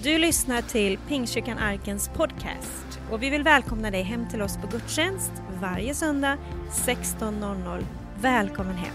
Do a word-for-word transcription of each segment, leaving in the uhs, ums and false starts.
Du lyssnar till Pingstkyrkan Arkens podcast och vi vill välkomna dig hem till oss på gudstjänst varje söndag sexton noll noll. Välkommen hem!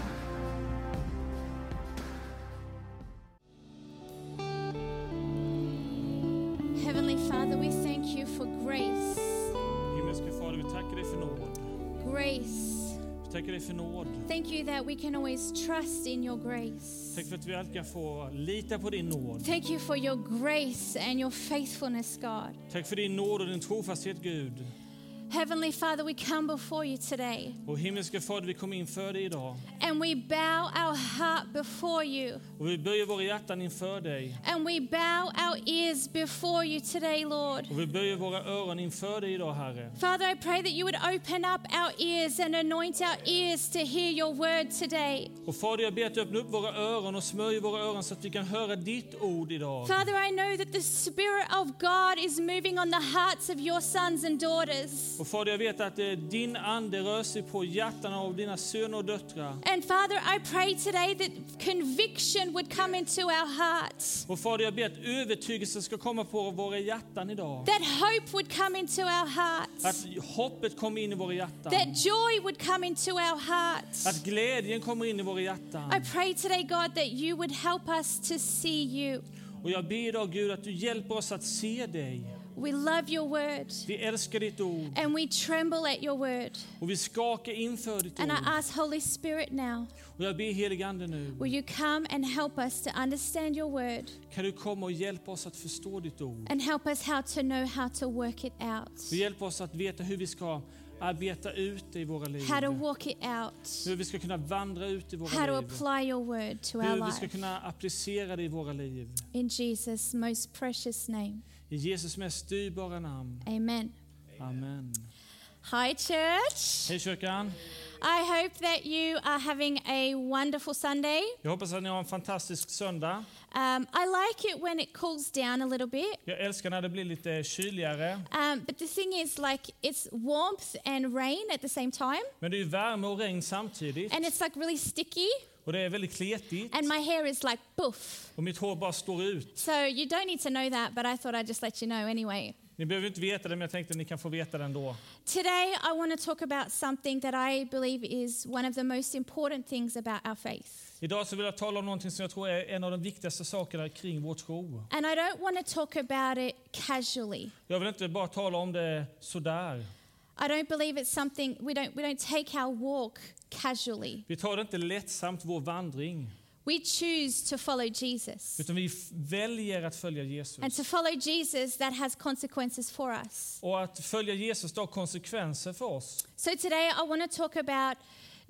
Heavenly Father, we thank you for grace. Himmelske Fader, vi tackar dig för nåd. Grace. Vi tackar dig för nåd. Thank you that we can always trust in your grace. Tack för att vi alltid kan få lita på din nåd. Thank you for your grace and your faithfulness, God. Tack för din nåd och din trofasthet, Gud. Heavenly Father, we come before you today. Och himmelske Fader, vi kommer inför dig idag. And we bow our heart before you. Och vi böjer våra hjärtan inför dig. And we bow our ears before you today, Lord. Och vi böjer våra öron inför dig idag, Herre. Father, I pray that you would open up our ears and anoint our ears to hear your word today. Och Fader, jag ber att du öppnar upp våra öron och smörjer våra öron så att vi kan höra ditt ord idag. Father, I know that the Spirit of God is moving on the hearts of your sons and daughters. Och Fader, jag vet att eh, din ande rör sig på hjärtan av dina söner och döttrar. And Father, I pray today that conviction would come into our hearts. Och Fader, jag ber att övertygelse ska komma på våra hjärtan idag. That hope would come into our hearts. Att hoppet kommer in i våra hjärtan. That joy would come into our hearts. Att glädjen kommer in i våra hjärtan. I pray today, God, that you would help us to see you. Och jag ber idag, Gud, att du hjälper oss att se dig. We love your word. Vi älskar ditt ord. And we tremble at your word. Och vi skakar inför ditt And I ord. ask Holy Spirit now, Och jag ber helig ande nu. will you come and help us to understand your word? Kan du komma och hjälpa oss att förstå ditt ord? And help us how to know how to work it out. Och hjälp oss att veta hur vi ska arbeta ut det i våra liv. How to walk it out. Hur vi ska kunna vandra ut i How våra to liv. apply your word to our Hur vi ska life. kunna applicera det i våra liv. In Jesus' most precious name. I Jesus mest dyrbara namn. Amen. Amen. Hi, church. Hej kyrkan. I hope that you are having a wonderful Sunday. Jag hoppas att ni har en fantastisk söndag. Um, I like it when it cools down a little bit. Jag älskar när det blir lite kyligare. Um, but the thing is, like, it's warmth and rain at the same time. Men det är ju värme och regn samtidigt. And it's like really sticky. Och det är väldigt kletigt. And my hair is like boof. Och mitt hår bara står ut. So you don't need to know that, but I thought I'd just let you know anyway. Ni behöver inte veta det, men jag tänkte att ni kan få veta det ändå. Today I want to talk about something that I believe is one of the most important things about our faith. Idag så vill jag tala om någonting som jag tror är en av de viktigaste sakerna kring vår tro. And I don't want to talk about it casually. Jag vill inte bara tala om det sådär. I don't believe it's something we don't we don't take our walk casually. Vi tar det inte lättsamt, vår vandring. We choose to follow Jesus. Utan vi f- väljer att följa Jesus. And to follow Jesus, that has consequences for us. Och att följa Jesus har konsekvenser för oss. So today I want to talk about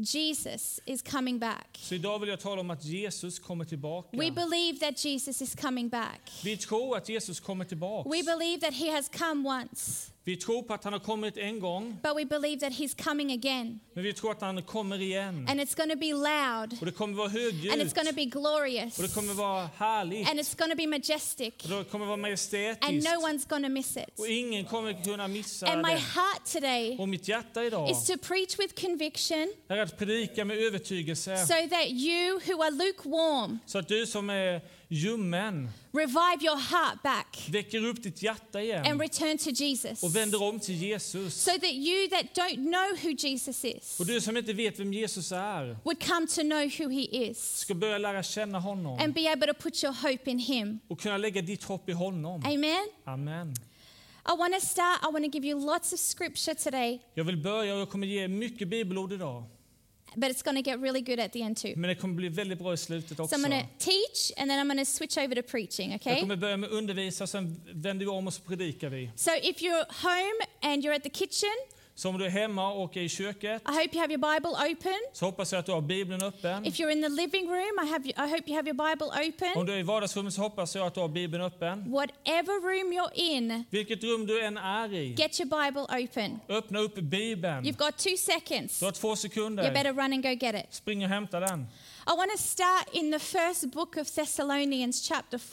Jesus is coming back. Så idag vill jag tala om att Jesus kommer tillbaka. We believe that Jesus is coming back. Vi tror att Jesus kommer tillbaka. We believe that he has come once, Vi tror på att han har kommit en gång. but we believe that he's coming again. Men vi tror att han kommer igen. And it's going to be loud, Och det kommer vara and it's högljutt. going to be glorious, Och det kommer vara härligt. and it's going to be majestic, Och det kommer vara and majestätiskt. no one's going to miss it. Och ingen kommer kunna missa And my det. heart today Och mitt hjärta idag is to preach with conviction är att predika med övertygelse. so that you who are lukewarm Så att du som är ljummen revive your heart back väcker upp ditt hjärta and igen. return to Jesus. Och vänder om till Jesus. So that you that don't know who Jesus is Och du som inte vet vem Jesus är would come to know who he is ska börja lära känna honom. and be able to put your hope in him. Och kunna lägga ditt hopp i honom. Amen. Amen. I want to start. I want to give you lots of scripture today, Jag vill börja och jag kommer ge mycket bibelord idag. but it's going to get really good at the end too. Men det kommer bli väldigt bra i slutet So också. I'm going to teach and then I'm going to switch over to preaching, Jag okay? kommer börja med undervisa och sen vänder vi om och så predikar vi. So if you're home and you're at the kitchen, Så om du är hemma och är i köket I hope you have your Bible open. så hoppas jag att du har Bibeln öppen. If you're in the living room, I have I hope you have your Bible Om open. du är i vardagsrummet så hoppas jag att du har Bibeln öppen. Whatever room you're in, Vilket rum du än är i, get your Bible open. öppna upp Bibeln. You've got two seconds. Du har två You sekunder. better run and go get it. Spring och hämta den. I want to start in the first book of Thessalonians chapter four.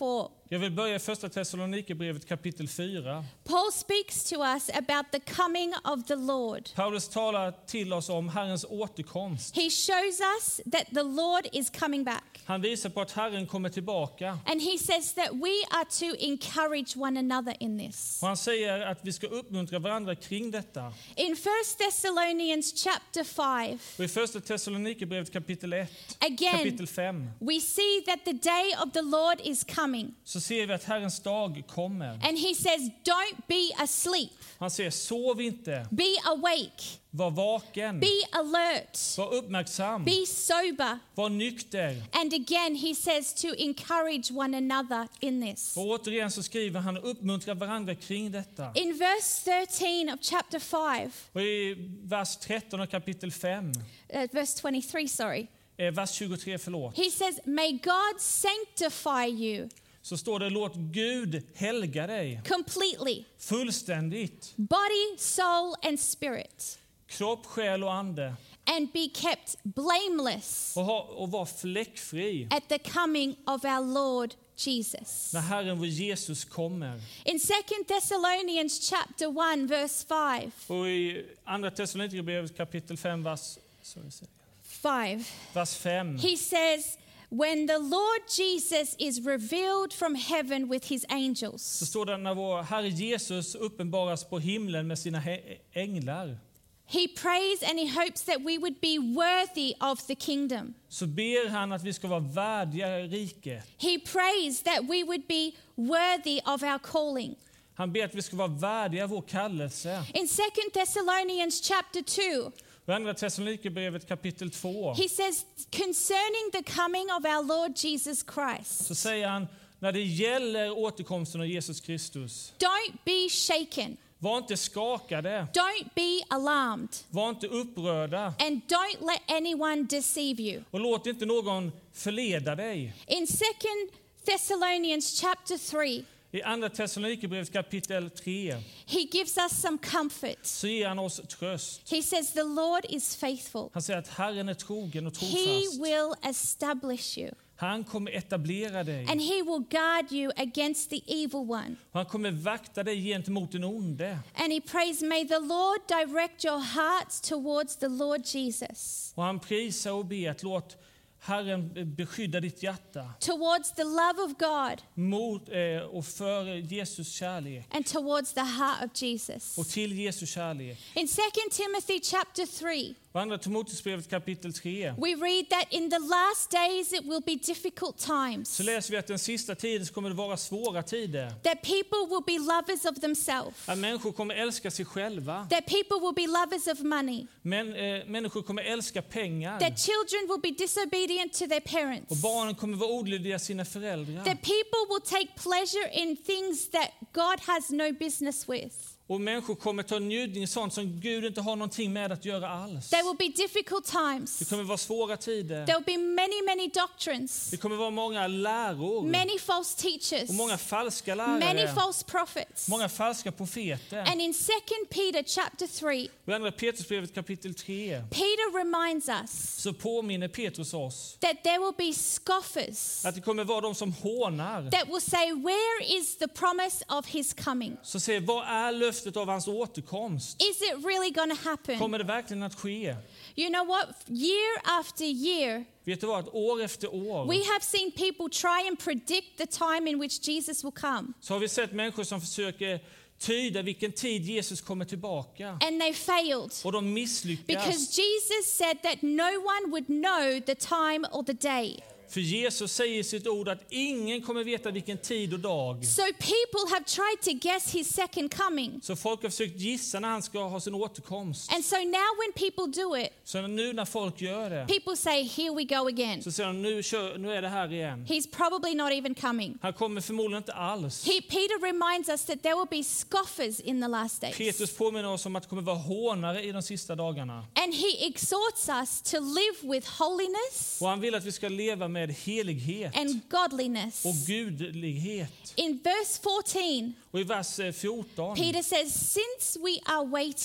Jag vill börja i första Thessalonikerbrevet kapitel fyra. Paul speaks to us about the coming of the Lord. Paulus talar till oss om Herrens återkomst. He shows us that the Lord is coming back. Han visar på att Herren kommer tillbaka. And he says that we are to encourage one another in this. Och han säger att vi ska uppmuntra varandra kring detta. In First Thessalonians chapter five, Och i första Thessalonikerbrevet kapitel ett, again, kapitel fem, we see that the day of the Lord is coming. så ser vi att Herrens dag kommer. And he says, don't be asleep. Han säger, sov inte, Be awake. var vaken, Be alert. var uppmärksam, Be sober. var nykter. And again, he says to encourage one another in this. Och återigen så skriver han uppmuntra varandra kring detta. In verse thirteen of chapter five, Och i vers tretton och kapitel fem, uh, verse twenty-three, sorry, eh, vers tjugotre, förlåt, he says, may God sanctify you så står det, låt Gud helga dig completely, fullständigt, body, soul, and spirit, kropp, själ och ande, and be kept blameless och, ha, och var fläckfri at the coming of our Lord Jesus. när Herren vår Jesus kommer. In Second Thessalonians chapter one, verse five, Och i andra Thessalonikerbrevet kapitel fem, vers, sorry, sorry, five, vers fem, he says, when the Lord Jesus is revealed from heaven with his så angels, står det, när vår Herre Jesus uppenbaras på himlen med sina he- änglar, he prays and he hopes that we would be worthy of the kingdom. så ber han att vi ska vara värdiga riket. He prays that we would be worthy of our calling. Han ber att vi ska vara värdiga vår kallelse. In Second Thessalonians chapter two, I andra Thessalonikerbrevet kapitel två, he says concerning the coming of our Lord Jesus Christ, så säger han, när det gäller återkomsten av Jesus Kristus, don't be shaken, var inte skakade, don't be alarmed, var inte upprörda, and don't let anyone deceive you. och låt inte någon förleda dig. In Second Thessalonians chapter three, I andra Thessalonikerbrevet kapitel tre he gives us some comfort. så ger han oss tröst. He says the Lord is faithful. Han säger att Herren är trogen och He trofast. will establish you, Han kommer etablera dig. and he will guard you against the evil one. Och han kommer vakta dig gentemot den onde. And he prays, may the Lord direct your hearts towards the Lord Jesus, Och han prisar och ber att låt Herren beskydda ditt hjärta towards the love of God, mot eh, och för Jesus kärlek and towards the heart of Jesus. och till Jesus kärlek. In Second Timothy chapter three, Och andra Timoteusbrevet kapitel tre we read that in the last days it will be difficult times, så läser vi att den sista tiden så kommer det vara svåra tider. that people will be lovers of themselves, Att människor kommer älska sig själva. that people will be lovers of money, Men eh, människor kommer älska pengar. that children will be disobedient to their Och parents, barnen kommer vara olydiga sina föräldrar. that people will take pleasure in things that God has no business with. Och människor kommer ta njutning i sånt som Gud inte har någonting med att göra alls. There will be difficult Det times. kommer vara svåra tider. There will be many, many doctrines, Det kommer vara många läror. many false teachers, Och många falska many lärare. false prophets. Många falska profeter. And in Second Peter chapter three, Och i andra Petrusbrevet kapitel tre Peter reminds us så påminner Petrus oss that there will be scoffers att det kommer vara de som hånar. that will say, where is the promise of his coming? Så se, vad är löftet av hans återkomst? Is it really going to happen? Kommer det verkligen att ske? You know what? Year after year, Vet du vad? År efter år we have seen people try and predict the time in which Jesus will come, så har vi sett människor som försöker tyda vilken tid Jesus kommer tillbaka. and they failed. Och de misslyckas. Because Jesus said that no one would know the time or the day. För Jesus säger i sitt ord att ingen kommer veta vilken tid och dag. So people have tried to guess his second coming. Så folk har försökt gissa när han ska ha sin återkomst. And so now when people do it, Så nu när folk gör det people say, here we go again. så säger de nu, kör, nu är det här igen. He's probably not even coming. Han kommer förmodligen inte alls. He, Peter reminds us that there will be scoffers in the last days. Petrus påminner oss om att det kommer vara hånare i de sista dagarna. And he exhorts us to live with holiness Och han vill att vi ska leva med helighet and godliness. och gudlighet. In verse fourteen, Och i vers fjorton Peter says, since we are waiting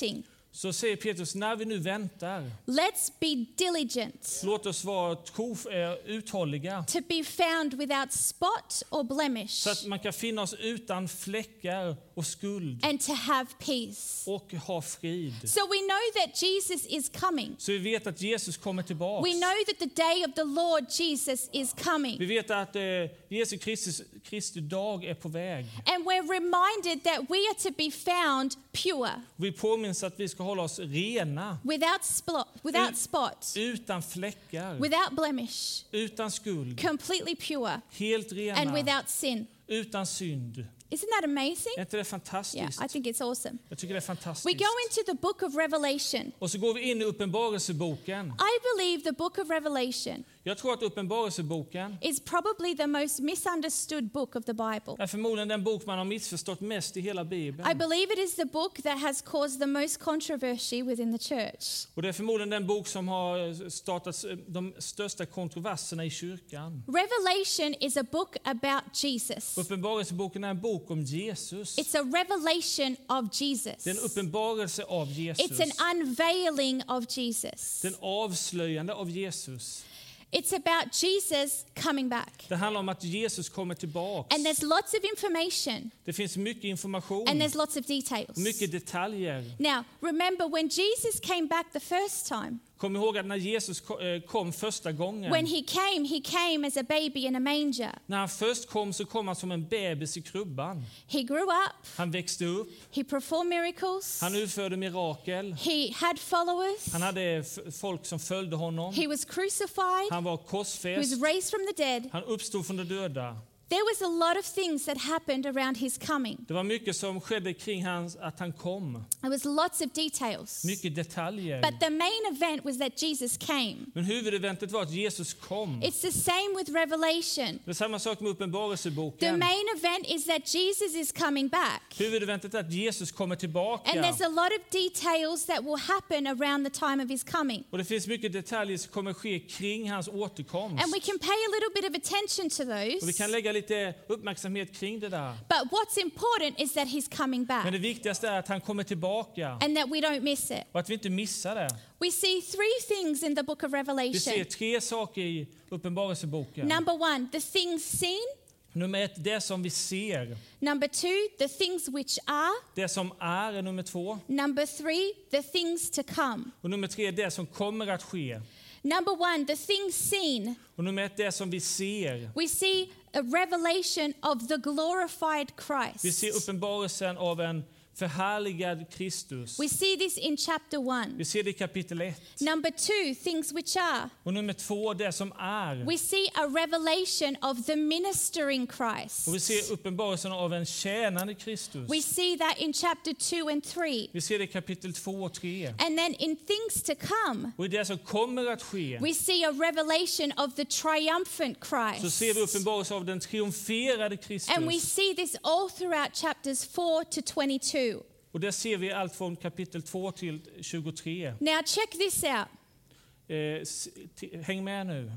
Så säger Petrus, när vi nu väntar, let's be diligent låt oss vara trof- eh, uthålliga. to be found without spot or blemish Så att man kan finna oss utan fläckar och skuld and to have peace. och ha frid. So we know that Jesus is coming. Så vi vet att Jesus kommer tillbaka. We know that the day of the Lord Jesus is Vi coming. vet att eh, Jesu Kristus, Kristi dag är på väg. And we're reminded that we are to be found pure, Vi påminns att vi ska hålla oss rena, without spot, without Ut- spot, utan fläckar, without blemish, utan skuld, completely pure, helt and rena, without sin. utan synd. Isn't that amazing? Är inte det Yeah, fantastiskt? I think it's awesome. Jag tycker det är We fantastiskt. go into the book of Revelation. Och så går vi in i Uppenbarelseboken. I believe the book of Revelation Jag tror att Uppenbarelseboken is probably the most misunderstood book of the Bible. är förmodligen den bok man har missförstått mest i hela I Bibeln. believe it is the book that has caused the most controversy within the church. Och det är förmodligen den bok som har startat de största kontroverserna i kyrkan. Revelation is a book about Jesus. Uppenbarelseboken är en bok om Jesus. It's a revelation of Jesus. Det är en uppenbarelse av Jesus. It's an unveiling of Jesus. Den avslöjande av Jesus. It's about Jesus coming back. Det handlar om att Jesus kommer tillbaks. And there's lots of information Det finns mycket information, and there's lots of details. mycket detaljer. Now, remember when Jesus came back the first time, Kom ihåg att när Jesus ko- eh, kom första gången, when he came, he came as a baby in a manger. när han först kom så kom han som en bebis i krubban. He grew up, Han växte upp, he performed miracles, han utförde mirakel, he had followers, han hade f- folk som följde honom, he was crucified, han var he was korsfäst, raised from the dead. han uppstod från de döda. There was a lot of things that happened around his coming. Det var mycket som skedde kring hans, att han kom. There was lots of details. Mycket detaljer. But the main event was that Jesus came. Men huvudeventet var att Jesus kom. It's the same with Revelation. Det är samma sak med The Uppenbarelseboken. main event is that Jesus is coming back. Huvudeventet är att Jesus kommer And tillbaka. there's a lot of details that will happen around the time of his coming. Och det finns mycket detaljer som kommer ske kring hans återkomst. And we can pay a little bit of attention to Och vi those. kan lägga lite uppmärksamhet kring det där. But what's important is that he's coming Men back det viktigaste är att han kommer tillbaka. and that we don't miss it. Och att vi inte missar det. We see three things in the book of Vi ser Revelation. tre saker i Uppenbarelseboken. Number one, the things seen. Nummer ett, det som vi ser. Number two, the things which are. Det som är är nummer två. Number three, the things to come. Och nummer tre, det som kommer att ske. Number one, the things seen. Och nummer ett, det som vi ser. We see a revelation of the glorified Vi ser Christ. uppenbarelsen av en förhärligad Kristus. We see this in chapter one. Vi ser det i kapitel ett. Number two, things which are. Och nummer två, det som är. We see a revelation of the ministering Christ. Och vi ser uppenbarelsen av en tjänande Kristus. We see that in chapter two and three. Vi ser det i kapitel två och tre. And then in things to come, Och i det som kommer att ske we see a revelation of the triumphant så ser vi Christ. uppenbarelsen av den triumferade Kristus. And we see this all throughout chapters four to twenty-two. Och där ser vi allt från kapitel två till tjugotre. Now check this out. Eh, s- t- häng med nu.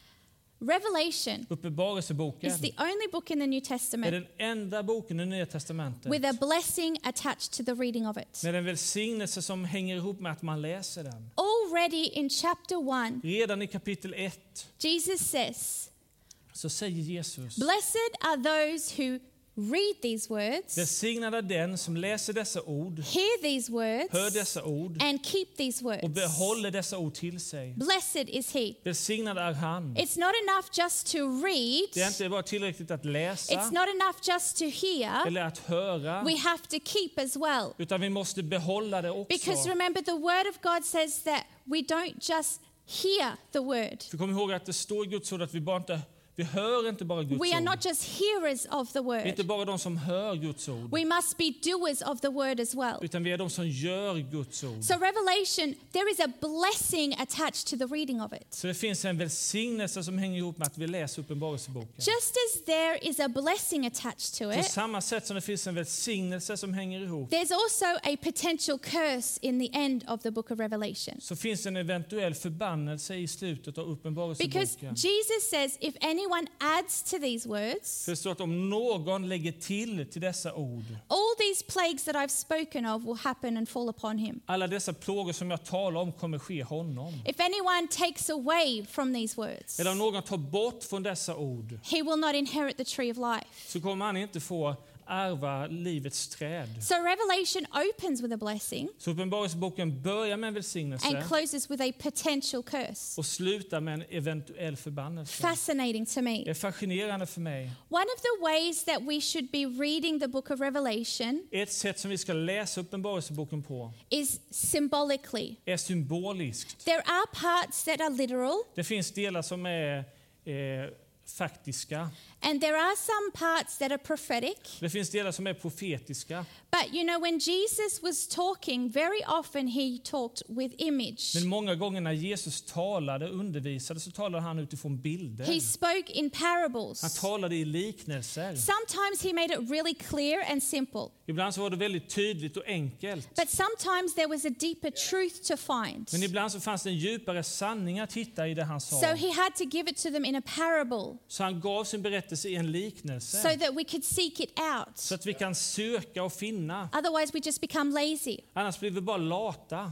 Revelation Uppenbarelseboken is the only book in the New är Testament den enda boken i Nya testamentet with a blessing attached to the reading of it. med en välsignelse som hänger ihop med att man läser den. Already in chapter one, Redan i kapitel ett Jesus says, så säger Jesus: "Blessed are those who read these words, välsignad är den som läser dessa ord, hear these hör words, dessa ord and keep these och words. behåller dessa ord till sig. Blessed is he." Välsignad är han. It's not enough just to read. Det är inte bara tillräckligt att It's läsa not enough just to hear. eller att höra, We have to keep as well. utan vi måste behålla det Because också. remember, the word of God says that we don't just hear the word. För kom ihåg att det står i Guds ord att vi bara inte vi hör inte bara Guds We are ord. not just hearers of the Vi är inte word. bara de som hör Guds ord, We must be doers of the word as well. utan vi är de som gör Guds ord. So Revelation, there is a blessing attached to the reading of it. Så det finns en välsignelse som hänger ihop med att vi läser Uppenbarelseboken. Just as there is a blessing attached to På it, samma sätt som det finns en välsignelse som hänger ihop, there's also a potential curse in the end of the book of Revelation. så finns en eventuell förbannelse i slutet av Because Uppenbarelseboken. Jesus says if anyone adds to these words, För det står att om någon lägger till till dessa ord, all these plagues that I've spoken of will happen and fall upon him. Alla dessa plågor som jag talar om kommer ske honom. If anyone takes away from these words, Eller om någon tar bort från dessa ord, he will not inherit the tree of life. så kommer han inte få ärva livets träd. So Revelation opens with a blessing Så Uppenbarelseboken börjar med en välsignelse and closes with a potential curse. och slutar med en eventuell förbannelse. Fascinating to Det me. är fascinerande för mig. One of the ways that we should be reading the book of Revelation Ett sätt som vi ska läsa Uppenbarelseboken på is symbolically. är symboliskt. There are parts that are literal, Det finns delar som är eh, faktiska. and there are some parts that are prophetic. Det finns delar som är profetiska. But you know, when Jesus was talking, very often he talked with image. Men många gånger när Jesus talade och undervisade så talade han utifrån bilder. He spoke in Han parables. talade i liknelser. Sometimes he made it really clear and simple, Ibland så var det väldigt tydligt och enkelt. but sometimes there was a deeper truth to find. Men ibland så fanns det en djupare sanning att hitta i det han sa. So he had to give it to them in a parable Så han gav sin berättelse i en liknelse. so that we could seek it out. Så att vi kan söka och finna. Otherwise, we just become lazy. Annars blir vi bara lata.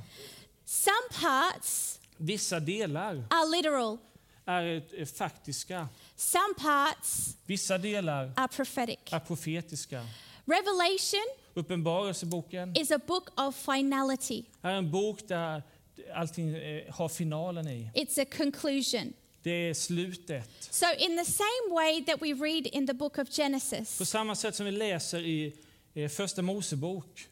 Some parts Vissa delar are literal, är eh, faktiska. some parts Vissa delar are prophetic. är profetiska. Revelation Uppenbarelseboken is a book of finality, är en bok där allting eh, har finalen i. it's a conclusion. Det är slutet. So, in the same way that we read in the book of Genesis, På samma sätt som vi läser i eh, Första Mosebok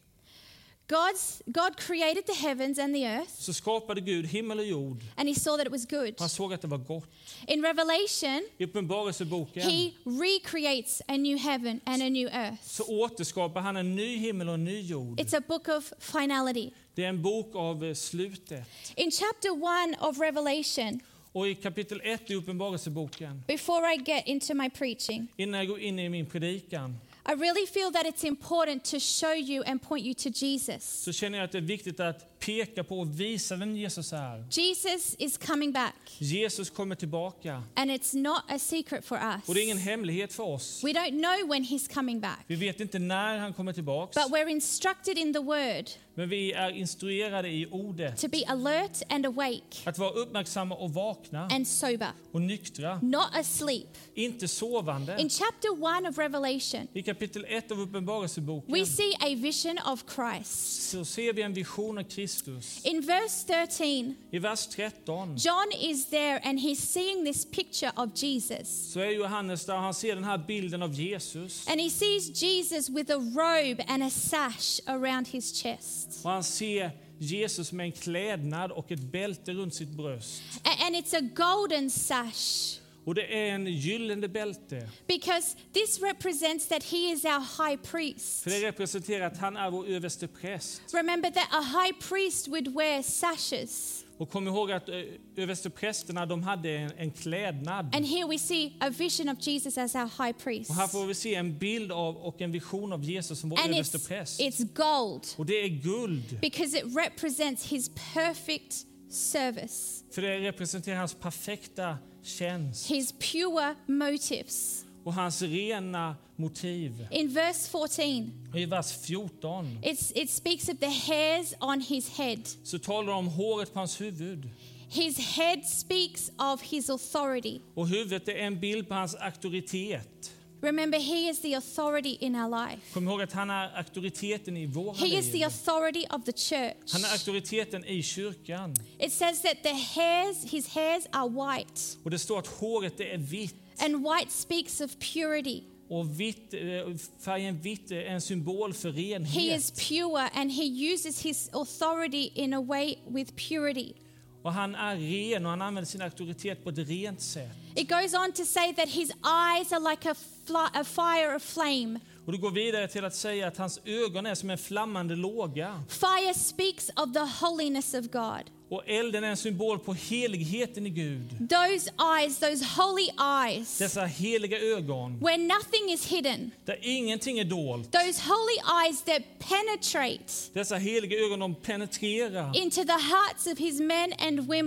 God's, God created the heavens and the earth, så skapade Gud himmel och jord. and he saw that it was good. Han såg att det var gott. In Revelation, I Uppenbarelseboken he recreates a new heaven and a new earth. så återskapar han en ny himmel och en ny jord. It's a book of finality. Det är en bok av eh, slutet. In chapter one of Revelation, Och i kapitel ett i Uppenbarelseboken, before I get into my preaching, innan jag går in i min predikan, I really feel that it's important to show you and point you to Jesus. så känner jag att det är viktigt att peka på och visa vem Jesus är. Jesus is coming back, Jesus kommer tillbaka. and it's not a secret for us. Och det är ingen hemlighet för oss. We don't know when he's coming back, Vi vet inte när han kommer tillbaka. but we're instructed in the word Men vi är instruerade i ordet. to be alert and awake Att vara uppmärksamma och vakna and sober, och nyktra. not asleep. Inte sovande. In chapter one of Revelation, I kapitel ett av Uppenbarelseboken we see a vision of Christ. så ser vi en vision av Kristus. In verse thirteen, I vers tretton John is there and he's seeing this picture of Jesus. så är Johannes där och han ser den här bilden av Jesus. And he sees Jesus with a robe and a sash around his chest. Och han ser Jesus med en klädnad och ett bälte runt sitt bröst. A- And it's a golden sash, Och det är en gyllene bälte. because this represents that he is our high priest. För det representerar att han är vår överste präst. Remember that a high priest would wear sashes. Och kom ihåg att överste prästerna de hade en, en klädnad. And here we see a vision of Jesus as our high priest. Och här får vi se en bild av och en vision av Jesus som vår And överste it's, präst. it's gold, Och det är guld. because it represents his perfect service, För det representerar hans perfekta tjänst his pure motives. och hans rena motiv. In verse fourteen, Och i vers fjorton it's, it speaks of the hairs on his head. så talar det om håret på hans huvud. His head speaks of his authority. Och huvudet är en bild på hans auktoritet. Remember, he is the authority in our life. Kom ihåg att han är auktoriteten i våra He is the liv. authority of the church. Han är auktoriteten i kyrkan. It says that the hairs, his hairs are white. Och det står att håret är vitt. And white speaks of purity. Och vitt, eh, färgen vitt är en symbol för He is renhet. pure, and he uses his authority in a way with purity. Och han är ren och han använder sin auktoritet på ett rent sätt. It goes on to say that his eyes are like a, fl- a fire of flame. Och det går vidare till att säga att hans ögon är som en flammande låga. Fire speaks of the holiness of God. Och elden är en symbol på heligheten i Gud. Those eyes, those holy eyes, Dessa heliga ögon, where nothing is hidden. där ingenting är dolt. Those holy eyes that penetrate Dessa heliga ögon, de penetrerar into the hearts of his men and women.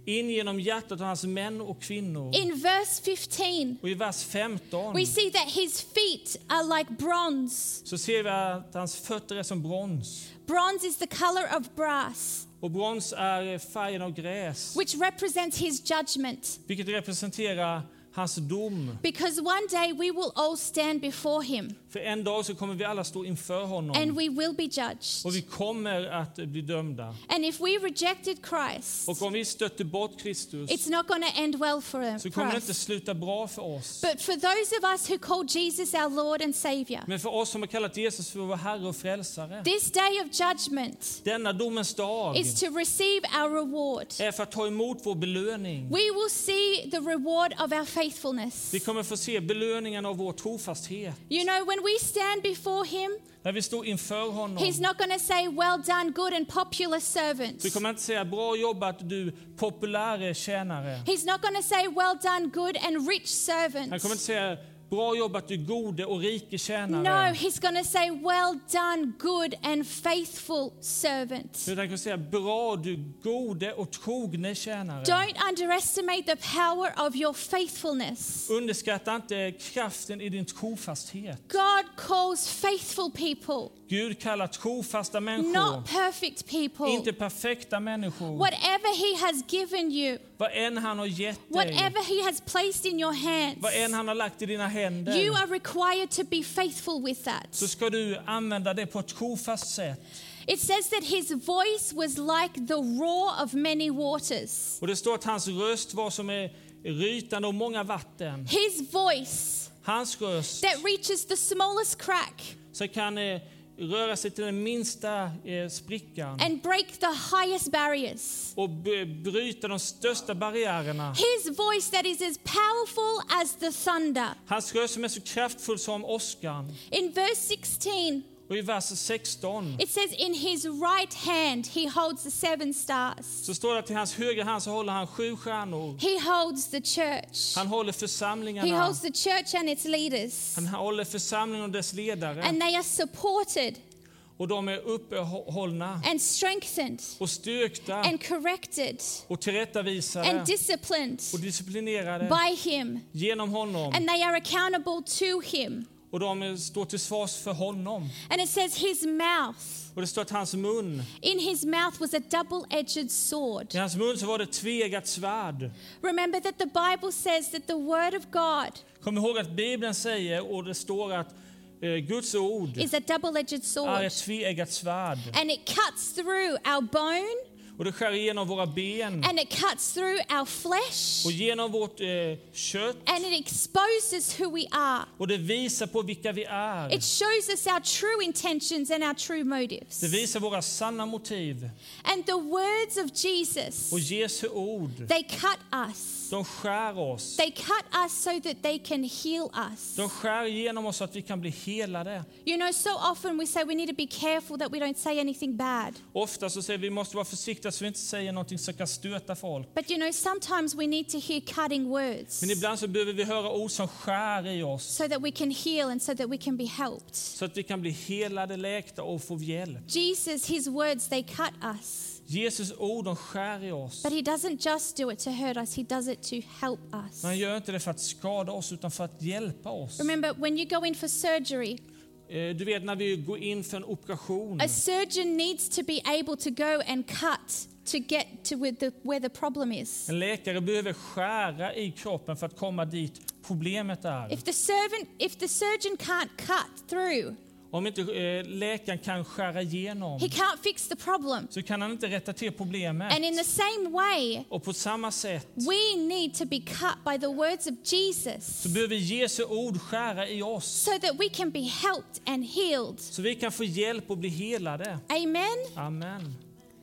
in genom hjärtat av hans män och kvinnor. In verse fifteen, Och i vers femton we see that his feet are like bronze. så ser vi att hans fötter är som brons. Bronze is the color of brass, Och brons är färgen av gräs, which represents his judgment. vilket representerar hans dom. Because one day we will all stand before him För en dag så kommer vi alla stå inför honom. and we will be judged. Och vi kommer att bli dömda. And if we rejected Christ, Och om vi stötte bort Kristus it's not going to end well for, så for kommer det inte us. sluta bra för oss. But for those of us who call Jesus our Lord and Savior, Men för oss som har kallat Jesus för vår Herre och Frälsare, this day of judgment denna domens dag is to receive our reward. är för att ta emot vår belöning. We will see the reward of our faithfulness. Vi kommer få se belöningen av vår trofasthet. You know, when we stand before him, När vi står inför honom he's not going to say, well done, good and popular servant. så kommer han inte säga bra jobbat du populäre tjänare. He's not going to say, well done, good and rich servant. Han kommer inte säga bra jobbat du gode och rike No, tjänare. he's going to say, well done, good and faithful servant. Utan han kommer säga bra du gode och trogne tjänare. Don't underestimate the power of your faithfulness. Underskatta inte kraften i din trofasthet. God calls faithful people, Gud kallar trofasta människor, not perfect people. inte perfekta människor. Whatever he has given you, Vad än han har gett dig, whatever he has placed in your hands, vad än han har lagt i dina händer, you are required to be faithful with that. så ska du använda det på ett trofast sätt. It says that his voice was like the roar of many waters. Och det står att hans röst var som är rytande och många vatten. His voice Hans röst that reaches the smallest crack så kan eh, röra sig till den minsta eh, sprickan and break the highest barriers. och b- bryta de största barriärerna. His voice that is as powerful as the thunder. Hans röst som är så kraftfull som åskan. In verse sixteen, Och i vers sexton it says, in his right hand he holds the seven stars. så står det att i hans högra hand så håller han sju stjärnor. He holds the church. Han håller He församlingarna. holds the church and its leaders. Han håller församlingen och dess ledare. And they are supported Och de är uppehållna and strengthened och styrkta and corrected och tillrättavisade and disciplined och disciplinerade by him. genom honom. And they are accountable to him. Och de står till svars för honom. And it says his mouth. Och det står att hans mun, In his mouth was a double-edged sword. i hans mun så var det ett tveeggat svärd. Remember that the Bible says that the word of God Kom ihåg att Bibeln säger, och det står att eh, Guds ord is a double-edged är sword. ett tveeggat svärd. And it cuts through our bone Och det skär igenom våra ben and it cuts through our flesh och genom vårt eh, kött. and it exposes who we are. Och det visar på vilka vi är. It shows us our true intentions and our true motives. Det visar våra sanna motiv. And the words of Jesus, Och Jesu ord, they cut us. de skär oss. They cut us so that they can heal us. De skär igenom oss så att vi kan bli helade. You know, so often we say we need to be careful that we don't say anything bad. Ofta så säger vi vi måste vara försiktiga så vi inte säger någonting som kan stöta folk. But you know, sometimes we need to hear cutting words Men ibland så behöver vi höra ord som skär i oss so that we can heal and so that we can be helped. så att vi kan bli helade, läkta och få hjälp. Jesus, his words, they cut us. Jesus ord, de skär i oss. But he doesn't just do it to hurt us, he does it to help us. Men han gör inte det för att skada oss utan för att hjälpa oss. Remember, when you go in for surgery, Eh, Du vet när vi går in för en operation. a surgeon needs to be able to go and cut to get to where the, where the problem is. En läkare behöver skära i kroppen för att komma dit problemet är. If the servant, if the surgeon can't cut through, Om inte eh, läkaren kan skära igenom he can't fix the problem. så kan han inte rätta till problemet. And in the same way, Och på samma sätt we need to be cut by the words of Jesus så behöver Jesu ord skära i oss so that we can be helped and healed. så vi kan få hjälp och bli helade. Amen. Amen.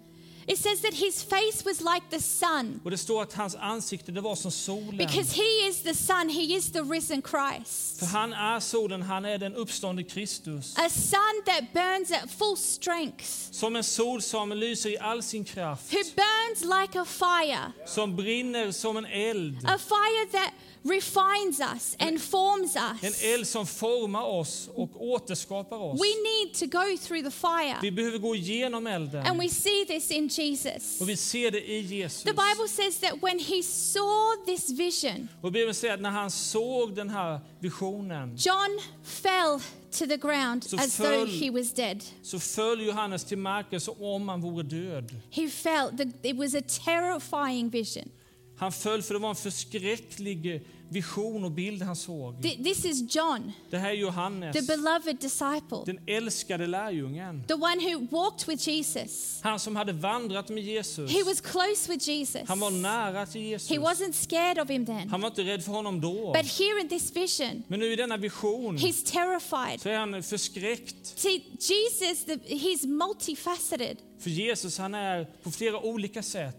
It says that his face was like the sun. Och det står att hans ansikte det var som solen. Because he is the sun, he is the risen Christ. För han är solen, han är den uppståndne Kristus. A sun that burns at full strength, Som en sol som lyser i all sin kraft. who burns like a fire, Som brinner som en eld. a fire that refines us and forms En us. eld som formar oss och återskapar oss. We need to go through the fire. Vi behöver gå igenom elden. And we see this in Jesus. Och vi ser det i Jesus. The Bible says that when he saw this vision, Och Bibeln säger att när han såg den här visionen John fell to the ground Så as though föll- he was dead. så föll Johannes till marken som om han vore död. He fell. The, it was a terrifying vision. Han föll för det var en förskräcklig vision och bild han såg. Th- This is John, Det här är Johannes, the beloved disciple, den älskade lärjungen. the one who walked with Jesus. Han som hade vandrat med Jesus. He was close with Jesus. Han var nära till Jesus. He wasn't scared of him then. Han var inte rädd för honom då. But here in this vision, Men nu i denna vision he's terrified. så är han förskräckt. See, Jesus, the, he's multifaceted. För Jesus, han är på flera olika sätt.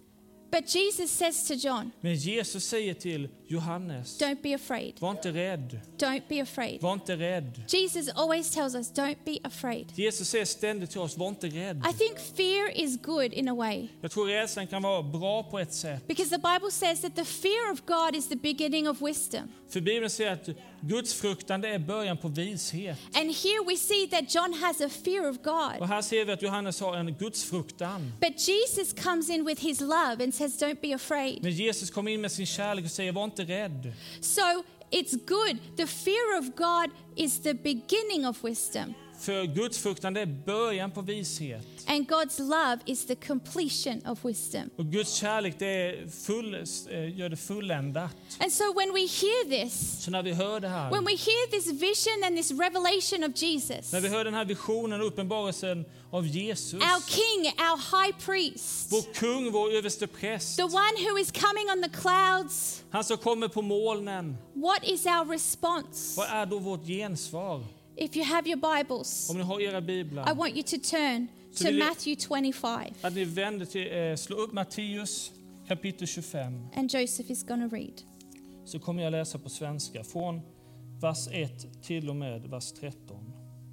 But Jesus says to John, Men Jesus säger till Johannes, don't be afraid. var inte rädd. Don't be afraid. Var inte rädd. Jesus always tells us, don't be afraid. Jesus säger ständigt till oss, var inte rädd. I think fear is good in a way. Jag tror rädslan kan vara bra på ett sätt. Because the Bible says that the fear of God is the beginning of wisdom. För Bibeln säger att Guds fruktan det är början på vishet. And here we see that John has a fear of Och God. här ser vi att Johannes har en Guds fruktan. But Jesus comes in with his love and says, don't be afraid. Men Jesus kommer in med sin kärlek och säger, var inte rädd. So it's good. The fear of God is the beginning of wisdom. För Guds fruktan det är början på vishet. And God's love is the completion of wisdom. Och Guds kärlek det är full, eh, gör det fulländat. And so when we hear this, Så när vi hör det här, when we hear this vision and this revelation of Jesus, när vi hör den här visionen och uppenbarelsen av Jesus, our king, our high priest, vår kung, vår överstepräst, the one who is coming on the clouds, han som kommer på molnen, what is our response? vad är då vårt gensvar? If you have your Bibles, Om ni har era I biblar, want you to turn Så to vill jag- Matthew twenty-five. att ni vänder till, eh, slå upp Matteus kapitel tjugofem. And Joseph is going to read. Så kommer jag läsa på svenska från vers ett till och med vers tretton.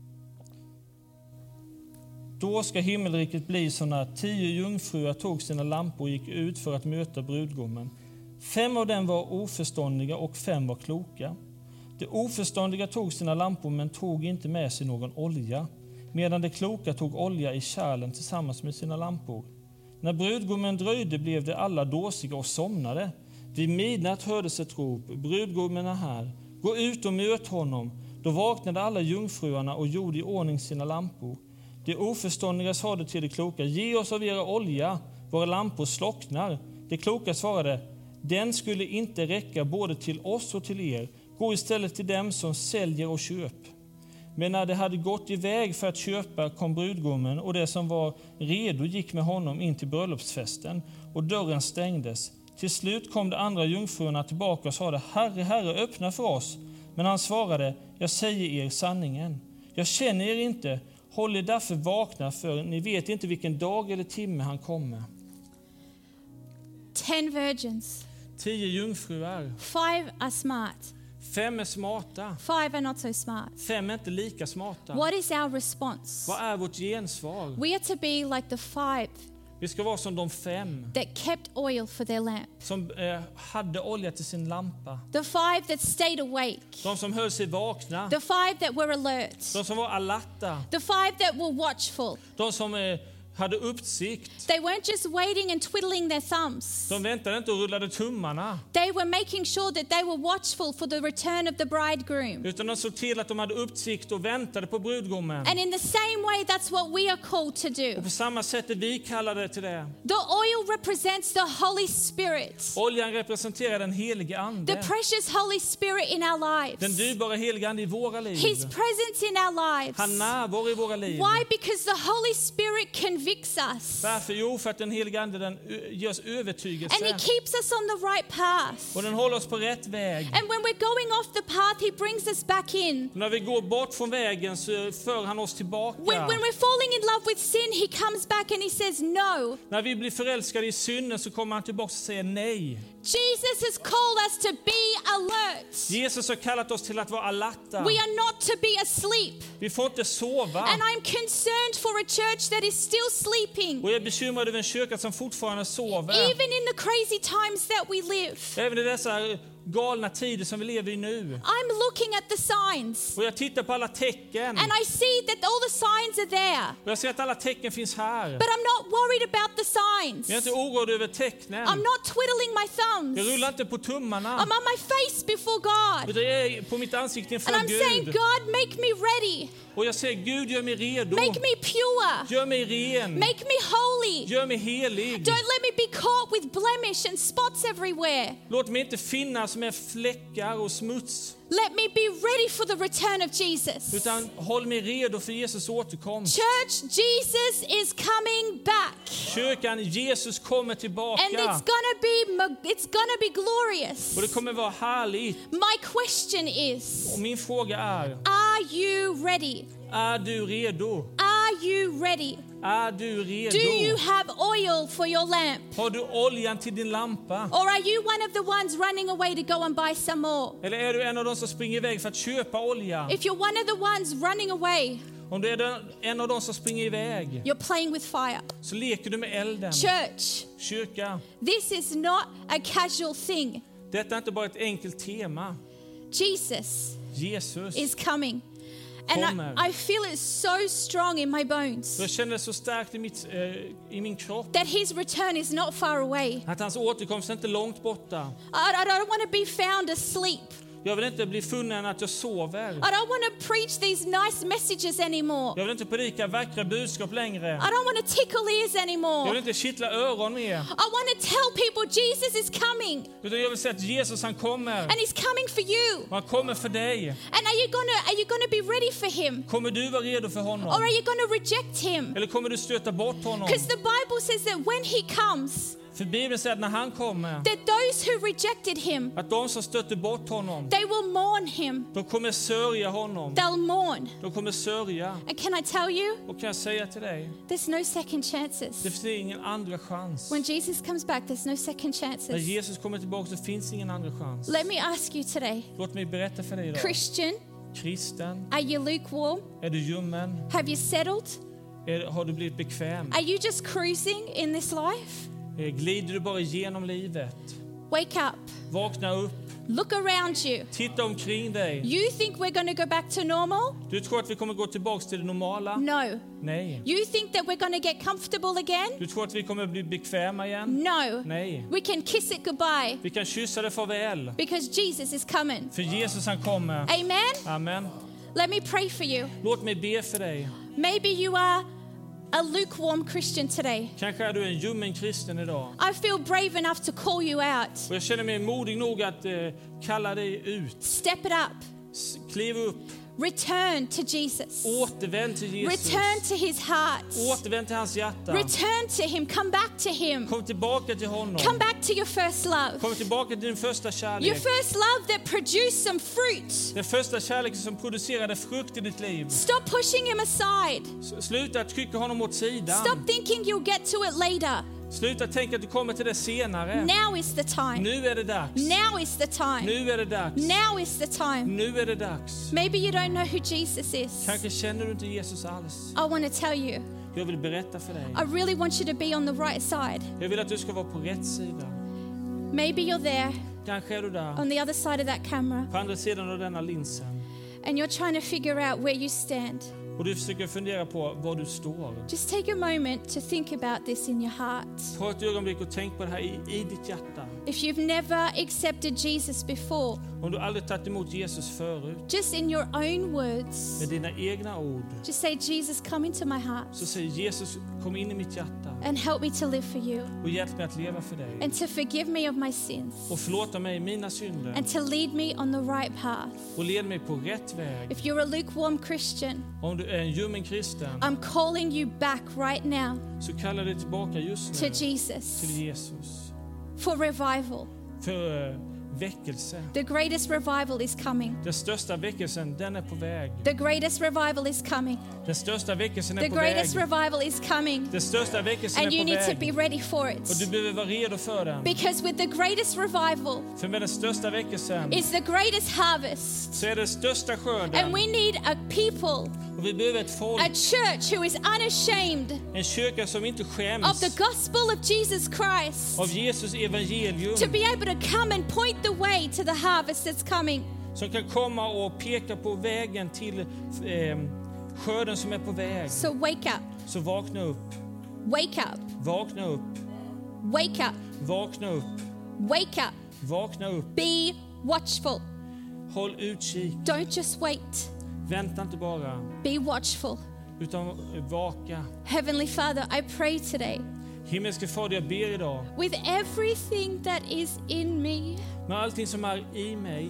Då ska himmelriket bli så när tio jungfrur tog sina lampor och gick ut för att möta brudgummen. Fem av dem var oförståndiga och fem var kloka. De oförståndiga tog sina lampor men tog inte med sig någon olja, medan de kloka tog olja i kärlen tillsammans med sina lampor. När brudgummen dröjde blev de alla dåsiga och somnade. Vid midnatt hördes ett rop, brudgummen är här, gå ut och möt honom. Då vaknade alla jungfruarna och gjorde i ordning sina lampor. De oförståndiga sade till de kloka, ge oss av era olja, våra lampor slocknar. De kloka svarade, den skulle inte räcka både till oss och till er. Gå istället till dem som säljer och köp. Men när de hade gått iväg för att köpa kom brudgummen och det som var redo gick med honom in till bröllopsfesten och dörren stängdes. Till slut kom de andra jungfrurna tillbaka och sade, Herre, Herre, öppna för oss. Men han svarade, jag säger er sanningen. Jag känner er inte, håll er därför vakna för ni vet inte vilken dag eller timme han kommer. Ten virgins. Tio jungfruar, Five are smart. fem är smarta, Five are not so smart. fem är inte lika smarta. What is our response? Vad är vårt gensvar? We are to be like the five Vi ska vara som de fem that kept oil for their lamp. som eh, hade olja till sin lampa. The five that stayed awake. De som höll sig vakna. The five that were alert. De som var alerta. The five that were watchful. De som eh, hade uppsikt. They weren't just waiting and twiddling their thumbs. De väntade inte och rullade tummarna. They were making sure that they were watchful for the return of the bridegroom. Utan de såg till att de hade uppsikt och väntade på brudgummen. And in the same way, that's what we are called to Och do. på samma sätt är vi kallade till det. The oil represents the Holy Spirit, Oljan representerar den helige the ande. precious Holy Spirit in our Den lives, dyrbara helige ande i våra liv. His presence in our lives. Han närvarar i våra liv. Why? Because the Holy Spirit convicts us. Varför? Jo, för att den helige ande den ö- ger oss And He övertygelse. keeps us on the right path. Och den håller oss på rätt väg. And when we're going off the path, He brings us back in. När vi går bort från vägen så för han oss tillbaka. When, when we're falling in love with sin, He comes back and He says no. När vi blir förälskade i synden så kommer han tillbaka och säger nej. Jesus has called us to be alert. Jesus har kallat oss till att vara alerta. We are not to be asleep. Vi får inte sova. And I'm concerned for a church that is still sleeping, Och jag är bekymrad över en kyrka som fortfarande sover. even in the crazy times that we live. Även i dessa galna tider som vi lever i nu. I'm looking at the signs. Och jag tittar på alla tecken. And I see that all the signs are there. Och jag ser att alla tecken finns här. But I'm not worried about the signs. Jag är inte oroad över tecknen. I'm not twiddling my thumbs. Jag rullar inte på tummarna. I'm on my face before God. Utan jag är på mitt ansikte inför And I'm saying, Gud. God, make me ready. Och jag säger, Gud, gör mig redo. Make me pure. Gör mig ren. Make me holy. Gör mig helig. Don't let me be caught with blemish and spots everywhere. Låt mig inte finnas med fläckar och smuts. Let me be ready for the return of Jesus. Utan håll mig redo för Jesus återkomst. Church, Jesus is coming back. Kyrkan, Jesus kommer tillbaka. And it's gonna be ma- it's gonna be glorious. Och det kommer vara härligt. My question is, Och min fråga är, are you ready? är du redo? Are you ready? Är du redo? Do you have oil for your lamp? Har du oljan till din lampa? Or are you one of the ones running away to go and buy some more? Eller är du en av de som springer iväg för att köpa olja? If you're one of the ones running away, Om du är den- en av de som springer iväg, you're playing with fire. så leker du med elden. Church, Kyrka, this is not a casual thing. detta är inte bara ett enkelt tema. Jesus Jesus. is coming. And Kommer. I, I feel it so strong in my bones Jag känner det så starkt i, mitt, eh, i min kropp that his return is not far away. att hans återkomst är inte långt borta. I, I don't want to be found asleep. Jag vill inte bli funnen att jag sover. I don't want to preach these nice messages anymore. Jag vill inte predika vackra budskap längre. I don't want to tickle ears Jag anymore. vill inte kittla öron mer. I want to tell people Jesus is coming, Utan jag vill säga att Jesus, han kommer. and he's coming for you. Och han kommer för dig. And are you gonna are you gonna be ready for him, Kommer du vara redo för or honom? are you gonna reject him? Eller kommer du stöta bort honom? Because the Bible says that when he comes, För Bibeln säger att när han kommer, that those who rejected him, att de som stötte bort honom, they will mourn him. de kommer sörja honom. They'll mourn. De kommer sörja. And can I tell you, Och kan jag säga till dig, there's no second det chances. finns ingen andra chans. When Jesus comes back, there's no second När chances. Jesus kommer tillbaka så finns ingen andra chans. Let me ask you today, Låt mig berätta för dig idag. Christian, Kristen, are you lukewarm? är du ljummen? Have you settled? Är, har du blivit bekväm? Are you just cruising in this life? Eh, Glider du bara igenom livet? Wake up. Vakna upp. Look around you. Titta omkring dig. You think we're going to go back to normal? Du tror att vi kommer gå tillbaka till det normala? No. Nej. You think that we're going to get comfortable again? Du tror att vi kommer bli bekväma igen? No. Nej. We can kiss it goodbye Vi kan kyssa det farväl. because Jesus is coming. För Jesus, han kommer. Amen? Amen. Let me pray for you. Låt mig be för dig. Maybe you are a lukewarm Christian today. Kanske är du en ljummen kristen idag. I feel brave enough to call you out. Och jag känner mig modig nog att eh, kalla dig ut. Step it up. S- Kliv upp. Return to Jesus. Återvänd till Jesus. Return to his heart. Återvänd till hans hjärta. Return to him. Come back to him. Kom tillbaka till honom. Come back to your first love. Kom tillbaka till din första Your kärlek. first love that produced some fruit. Den första kärleken som producerade frukt i ditt liv. Stop pushing him aside. S- Sluta trycka honom åt sidan. Stop thinking you'll get to it later. Sluta tänka att du kommer till det senare. Now is the time. Nu är det dags. Now is the time. Nu är det dags. Now is the time. Nu är det dags. Maybe you don't know who Jesus is. Kanske känner du inte Jesus alls. I want to tell you, Jag vill berätta för dig. I really want you to be on the right side. Jag vill att du ska vara på rätt sida. Maybe you're there Kanske är du där. on the other side of that camera På andra sidan av denna linsen. and you're trying to figure out where you stand. Och du försöker fundera på var du står. Just take a moment to think about this in your heart. Ta ett ögonblick och tänk på det här i, i ditt hjärta. If you've never accepted Jesus before, Om du aldrig tagit emot Jesus förut. just in your own words, Med dina egna ord. just say, Jesus, come into my heart Så säger Jesus, kom in i mitt hjärta. and help me to live for you Och hjälp mig att leva för dig. and to forgive me of my sins Och förlåta mig mina synder. and to lead me on the right path. Och led mig på rätt väg. If you're a lukewarm Christian, Om du är en ljummen kristen. I'm calling you back right now Så kalla dig tillbaka just to nu. Jesus Till Jesus. for revival. För uh, väckelse. The greatest revival is coming. Den största väckelsen, den är på väg. The greatest revival is coming. Den största väckelsen är The på greatest väg. revival is coming. Den största väckelsen And you är på need to be väg. ready for Och it. du behöver vara redo för den. Because with the greatest revival För med den största väckelsen is the greatest harvest. så är det största And skörden. we need a people Och vi behöver ett folk, a church who is unashamed en kyrka som inte of skäms the gospel of Jesus Christ, av Jesus evangelium, to be able to come and point the way to the harvest that's coming. som kan komma och peka på vägen till eh, skörden som är på väg. So wake up, Så vakna upp, wake up, vakna upp, wake up, vakna upp, wake up. vakna upp. Be watchful. Håll utkik, Don't just wait. vänta inte bara, Be watchful. utan vaka. Heavenly Father, I pray today, Himmelske Fader, jag ber idag, with everything that is in me, med allting som är i mig,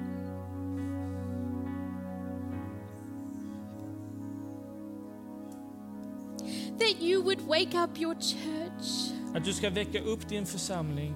that you would wake up your church. att du ska väcka upp din församling.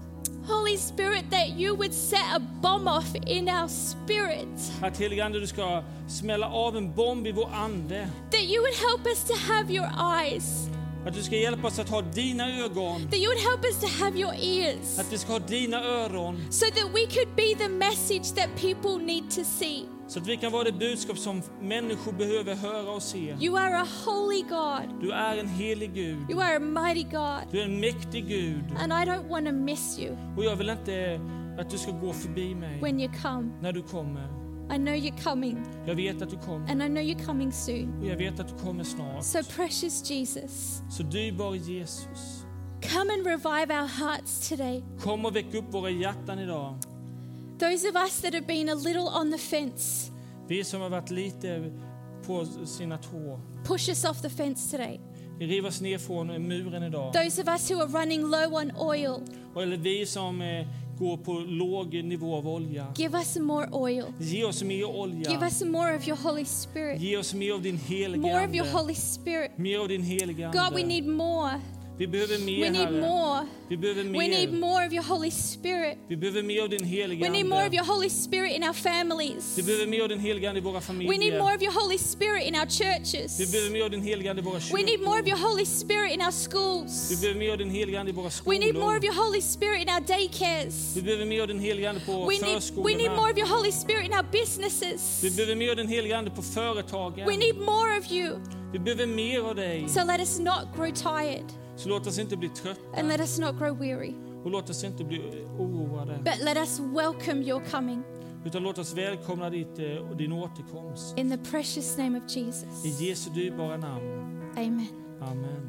Holy Spirit, that you would set a bomb off in our spirit. Att helige Ande, du ska smälla av en bomb i vår ande. That you would help us to have your eyes. Att du ska hjälpa oss att ha dina ögon. That you would help us to have your ears. Att vi ska ha dina öron. So that we could be the message that people need to see. Så att vi kan vara det budskap som människor behöver höra och se. You are a holy God. Du är en helig Gud. You are a mighty God. Du är en mäktig Gud. And I don't want to miss you Och jag vill inte att du ska gå förbi mig when you come. när du kommer. I know you're coming, Jag vet att du kommer. and I know you're coming soon. Och jag vet att du kommer snart. So precious Jesus, Så dyrbar Jesus, come and revive our hearts today. kom och väck upp våra hjärtan idag. Those of us that have been a little on the fence, Vi som har varit lite på sina tår. push us off the fence today. Vi river oss ner från muren idag. Those of us who are running low on oil, Eller vi som eh, går på låg nivå av olja. give us some more oil. Ge oss mer olja. Give us some more of your Holy Spirit. Ge oss mer av din heliga More of your ande. Holy Spirit. Mer av din heliga ande. God, we need more. Vi behöver mer, We need Herre. more. Vi behöver We need mer. more of your Holy Spirit. Vi behöver mer av din heliga We need more of ande. your Holy Spirit in our families. Vi behöver mer av din heliga ande i våra We need familjer. more of your Holy Spirit in our Vi churches. behöver mer av din heliga ande i våra We need more of kyrkor. your Holy Spirit in our Vi schools. behöver mer av din heliga ande i våra We need more of skolor. your Holy Spirit in our daycares. Vi behöver mer av din heliga ande på We need, we need more förskolorna. of your Holy Spirit in our businesses. Vi behöver mer av din heliga ande på företagen. We need more of you. Vi behöver mer av dig. So let us not grow tired Så låt oss inte bli trötta. and let us not grow weary, Och låt oss inte bli oroade. but let us welcome your coming Utan låt oss välkomna ditt, eh, din återkomst. in the precious name of Jesus. I Jesu dyrbara namn. Amen. Amen.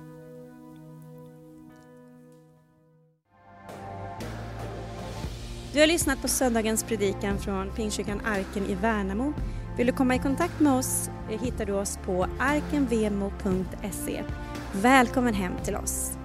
Du har lyssnat på söndagens predikan från Pingstkyrkan Arken i Värnamo. Vill du komma i kontakt med oss hittar du oss på arkenvemo punkt se. Välkommen hem till oss.